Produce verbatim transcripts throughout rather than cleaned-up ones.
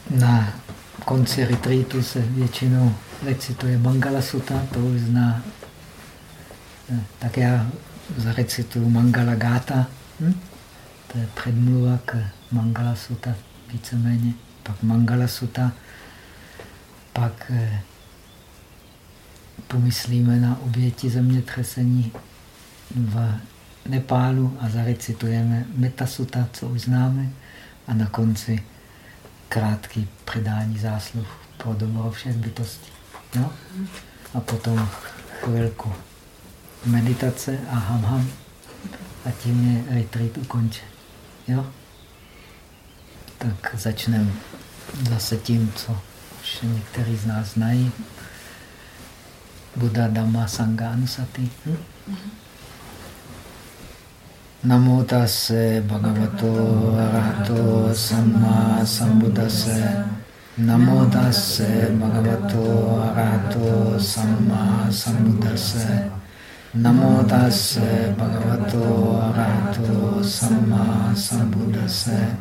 Na konci retreatu se většinou recituje Mangala Sutta, to už zná. Tak já zarecituju Mangala Gáta. Hm? To je předmluva k Mangala Sutta víceméně. Pak Mangala Sutta, pak eh, pomyslíme na oběti zemětřesení v Nepálu a zarecitujeme Metta Sutta, co už známe, a na konci krátký předání zásluh pro dobro všech bytostí. No? A potom chvilku meditace a ham ham a tím je retreat ukončen. Jo? Tak začneme zase tím, co už někteří z nás znají. Buddha, Dhamma, Sangha, Anusati. Hm? Namo tase bhagavato arahato samma sambuddhase. Namo tase bhagavato arahato samma sambuddhase. Namo tase bhagavato arahato samma sambuddhase.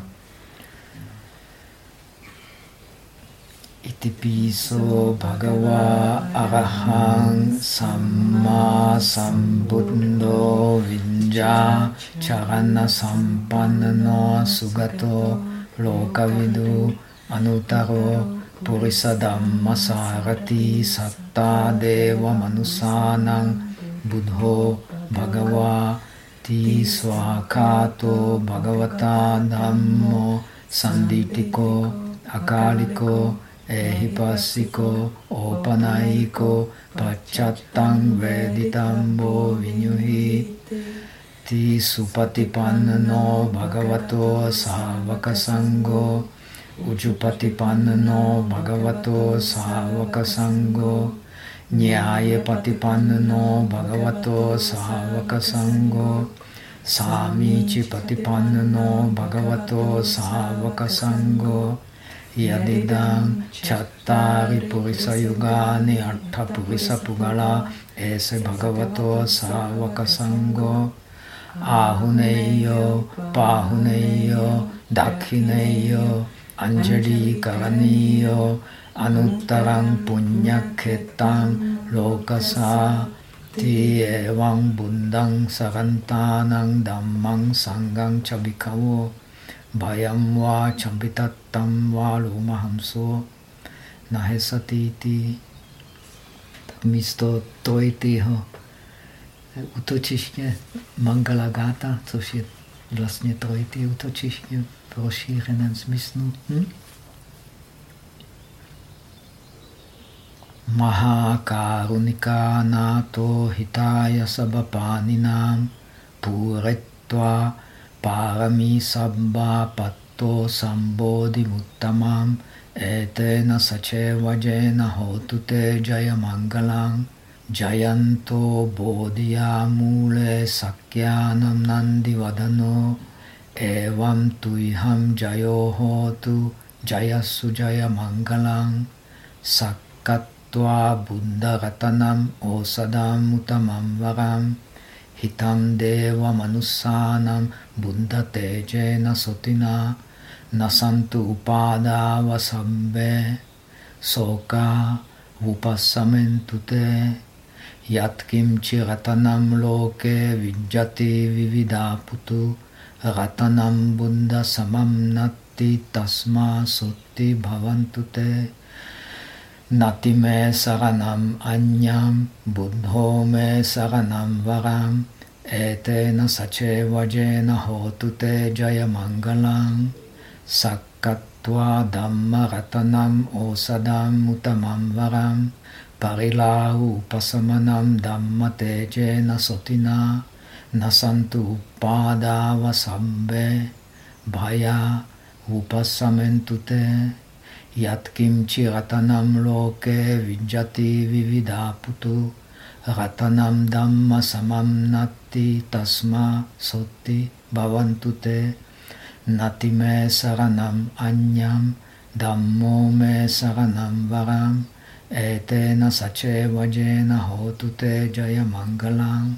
Itipiso bhagava arahang samma sambuddho vinja charana sampannano sugato lokavidu anutaro purisa dhamma sarati satta deva manusanang buddho bhagava ti swakato bhagavata dhammo sanditiko akaliko ehipassiko opanaiko pacchattam veditambo vinyuhi ti supatipannano bhagavato savaka sangho ujupatipannano bhagavato savaka sangho nyaya patipannano bhagavato savaka sangho samici patipannano bhagavato savaka sangho yadidang chattari purisa yugani atta purisa pugala ese bhagavato savaka sangho ahuneyo pahuneyo dakhineyo anjali karaniyo anuttarang punyakhetang lokasa ti evang buddhang sarantanang dhammang sanghang chabhikavo bhayam va champitattam va lumahamso nahesatiti. Tak místo trojitýho útočiště Mangala Gáta, což je vlastně trojitý útočiště v rozšířeném smyslu. Hm? Mahakarunika nato hitaya sabhapaninam puretva parami sabba patto sambodhi muttamam etena sacevajena hotute jaya mangalang jayanto bodhiya mule sakyanam nandi vadano evam tuiham jayo hotu jayasu jaya mangalang sakkatva buddha ratanam osadam utamam varam hitam deva manusanam buddha tejena sotina nasantu upadava sabbe soka upassamentute yatkimchi ratanam loke vijjati vividaputu ratanam buddha samam natti tasma sotti bhavantute nati me saranam anyam buddho me saranam varam etena sacevajena hotute jaya mangalang sakkatva dhamma ratanam osadam utamam varam parilahu upasamanam dhamma tejena sotina nasantu upadava sabbe bhaya upassamentute yatkimchi ratanam loke vijjati vividaputu ratanam dhamma samam natti tasma sotti bhavantute nati me saranam anyam dhammo me saranam varam etena sacevajena hotute jaya mangalang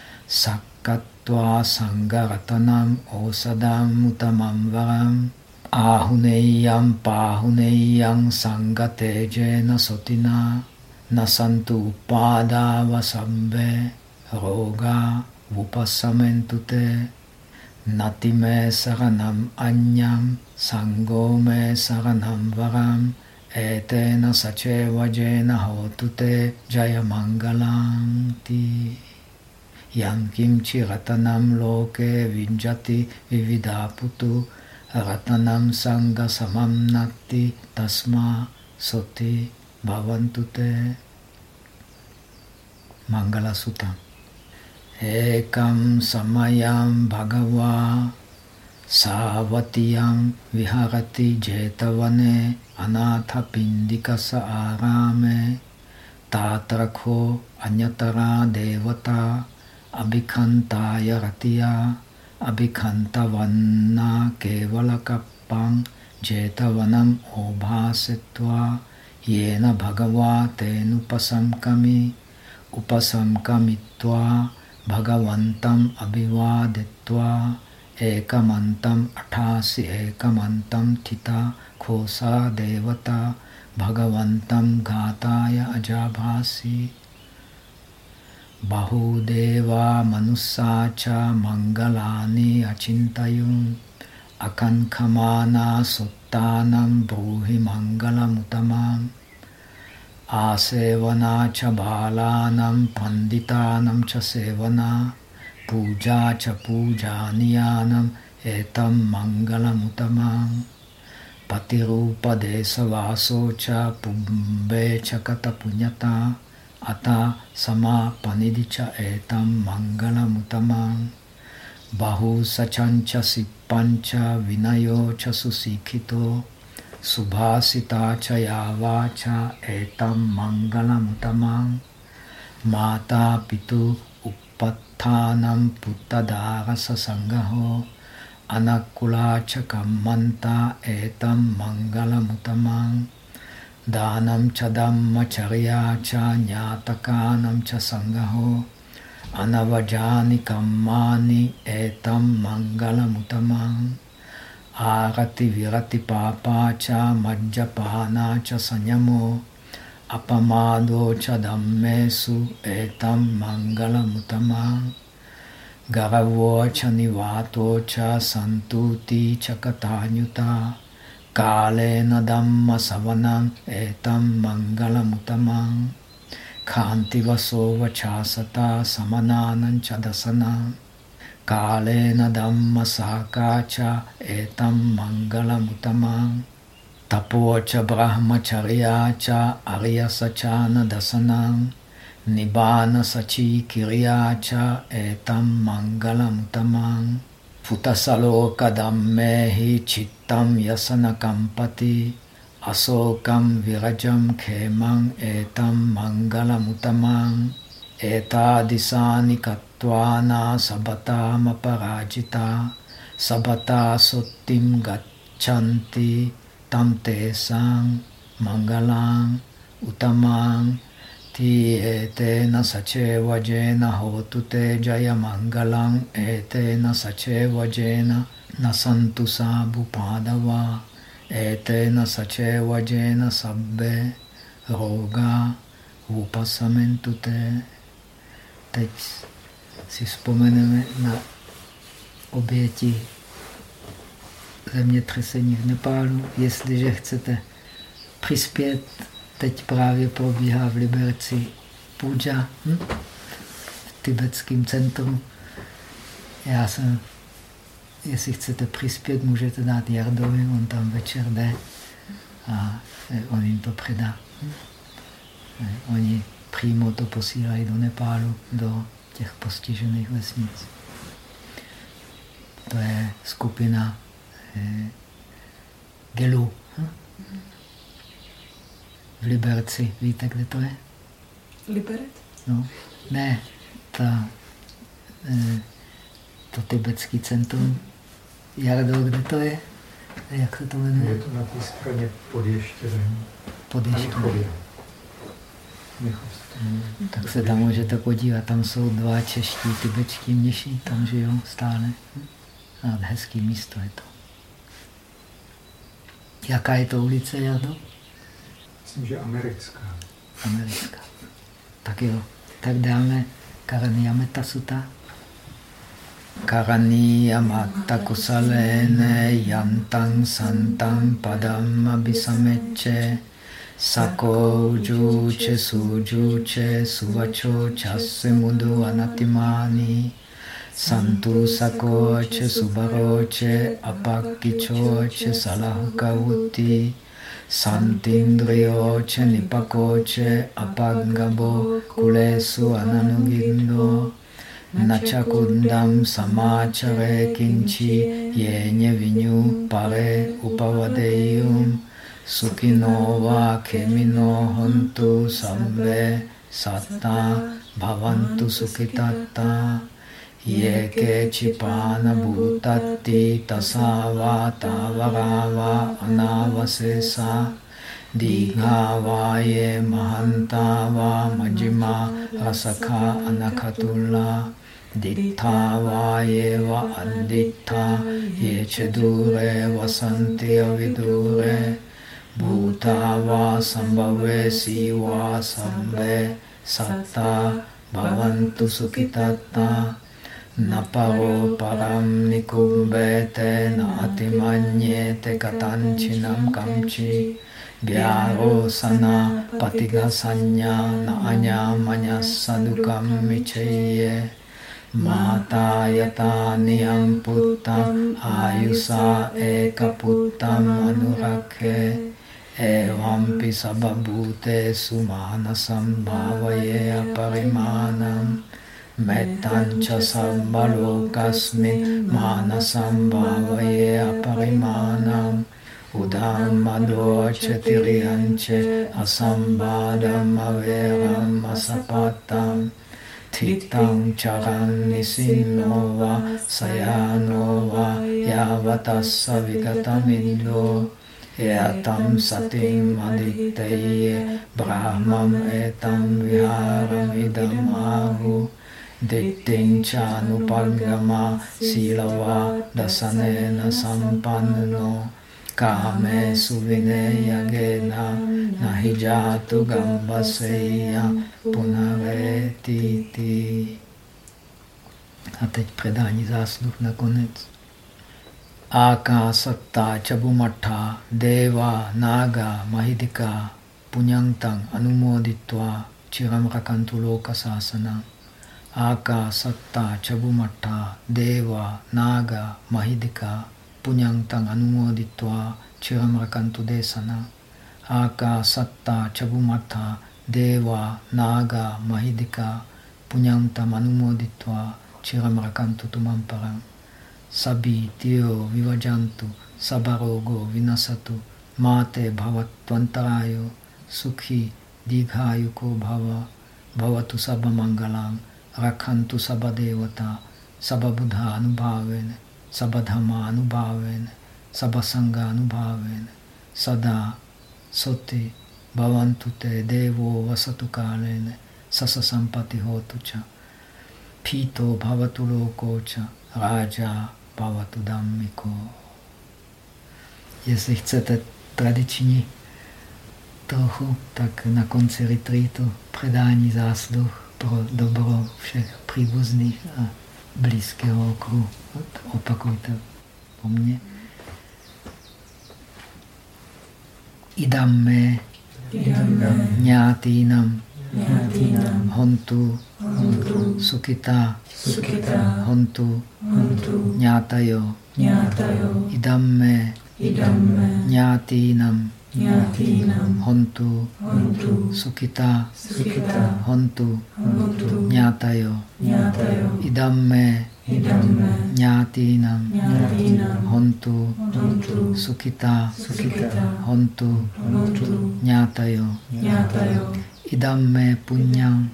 sakkatva sangha ratanam osadam utamam varam Ahuneyam pahuneyam sangatejena sotina nasantu upadava sambe roga vupasamentute natime saranam anyam sangome saranam varam etena sacevajena hotute jayamangalanti yam kimchi ratanam loke vinjati vividaputu ratanam sangha samam natti tasma soti bhavantute. Mangala Sutta. Ekam samayam bhagava savatiyam viharati jetavane anatha pindikasa arame tatrakho anyatara devata abhikhantaya ratiya abhikhantavanna kevalakappang jetavanam obhasetva yena bhagava tenupasamkami upasamkamitva bhagavantam abhivadetva ekamantam athasi ekamantam thita khosa devata bhagavantam ghataya ajabhasi bahudeva manusacha mangalani achintayum akankhamana suttanam bruhi mangalamuttamam asevana cha balanam panditanam cha sevana puja cha pujaniyanam etam mangalamuttamam patirupa desavaso cha pumbe cha katapunyata ata sama panidicha etam mangalamuttamam bahu sachancha sippancha vinayo cha susikhito subhasita cha yavacha etam mangalamuttamam mata pitu uppattanam puttadarasa sangaho anakula cha kammanta etam mangalamuttamam Dhanam cha dhamma charya cha nyatakanam cha sangaho anavajani kammani etam mangalamuttamam arati virati papa cha majjapana cha sanyamo apamado cha dhammesu etam mangalamuttamam garavo cha nivato cha santuti cha katanyuta Kalena dhamma savanam etam mangalamuttamam Khanti vaso vachasata samananam chadasanam Kalena dhamma sakacha etam mangalamuttamam Tapocha brahmacharya cha aryasachana dasanam Nibbana sachi kirya cha etam mangalamuttamam Futasaloka dhammehi chittam yasana kampati asokam virajam khemang etam mangalamuttamam etadisani kattvana sabatam aparajita sabata sottim gacchanti tam tesang mangalang uttamang Ti etena saceva jena hotu te jaya mangalang etena saceva jena nasantu sabu padava etena saceva jena sabbe roga upasamentute. Teď si vzpomeneme na oběti zemětřesení v Nepálu. Jestliže chcete přispět, teď právě probíhá v Liberci puja hm? v tibetském centru. Já jsem, jestli chcete přispět, můžete dát Jardovi, on tam večer jde a on jim to předá. Hm? Oni přímo to posílají do Nepálu, do těch postižených vesnic. To je skupina eh, Gelu. Hm? V Liberci. Víte, kde to je? Liberec? No, ne, ta, e, to tibetský centrum. Jardo, kde to je? Jak se to jmenuje? Je to na té straně pod Ještěrem. Pod Ještěrem. Tak se tam můžete podívat. Tam jsou dva čeští tibetští mniši, tam žijou stále. A hezký místo je to. Jaká je to ulice, Jardo? Myslím, že americká. Americká. Tak jo. Tak dáme Karaniya Metta Sutta. Karaniya Metta Kusalene Yantang Santang Padam Abhisameche Sako Juche Sujuche Suvacho Chasse Mudu Anatimani Santu Sakoche Subaroche Apakichoche Salahukavuti Santindriyoche Nipakoche Apagabo Kulesu Ananugindo Nachakundam Samachare Kinchi Yenye Vinyu Pare Upavadeyum Sukhinova Kemino Hontu Sabbe Satta Bhavantu Sukhitatta Yeke Chipana Bhutatti Tasava Tavarava Anavasesa Dighavaye Mahantava Majima Rasakha Anakhatula Dittavaye Va Additta Yechedure Vasanti Avidure Bhutava Sambhave Siva Sambhe Satta Bhavantu Sukhitatta Naparo param nikumbete na atimanyete katanchinam kamchi Vyaro sana patiga sanya na anyamanya sadukam vichaye Mata yata niyam puttam ayusa eka puttam anurakhe Evampi sababhute sumanasam bhavaye aparimanam Mettancha sambalokasmin manasam bhavaye aparimanam Udam madoche tiriyanche asambadam averam asapatam Titam charan nisinova sayanova yavatassa vigatamindo Etam satim aditteye brahmam etam viharam idam ahu Dittincha nupagama silava dasanena sampanno Kame suvineya gena nahijatu gambaseya punaretiti. A teď předání zásluh nakonec. Aka satta chabumatha deva naga mahidika punyantang anumoditva chiram rakantu loka sasana. Aka satta chabumatha deva naga mahidika punyantang anumoditva chiram rakantu desana. Aka satta chabumatha deva naga mahidika punyantang anumoditva chiram rakantu tumamparam. Sabi tiyo vivajantu sabarogo vinasatu mate bhavatvantarayo sukhi digayuko bhava bhavatu sabamangalam rakhantu sabadevata sababudha anubhavene sabadhama anubhavene sabasanga anubhavene sada soti bhavantu te devo vasatu kalene sasa sampati hotu cha pito bhavatu loko cha raja bhavatu dhammiko. Jestli chcete tradiční trochu, tak na konci retreatu předání zásluh pro dobro všech příbuzných a blízkého okruhu. Opakujte po mně. Idamme ñātīnam hontu sukita hontu ñātayo idamme ñātīnam hontu sukita hontu ñātayo idamme ñātīnam hontu sukita hontu ñātayo idamme punyam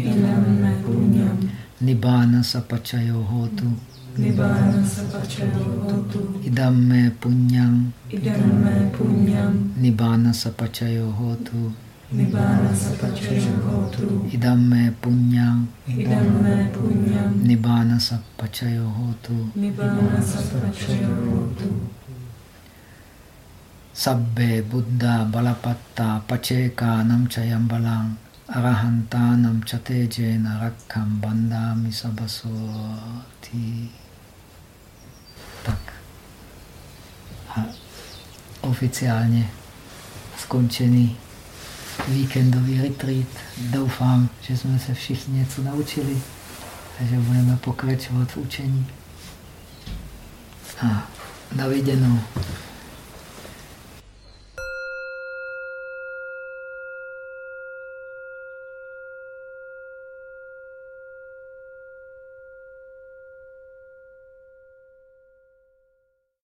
nibbāna sapacayo hotu idamme punyam nibbāna sapacayo hotu idamme punyam nibbāna sapacayo hotu Sabbe, Buddha, Balapatta, Pačeka, Namčajambalang, Arahanta, Namčatejena, Rakkam, Bandami, Sabasoti. Tak. A oficiálně skončený víkendový retreat. Doufám, že jsme se všichni něco naučili a že budeme pokračovat v učení. A na viděnou.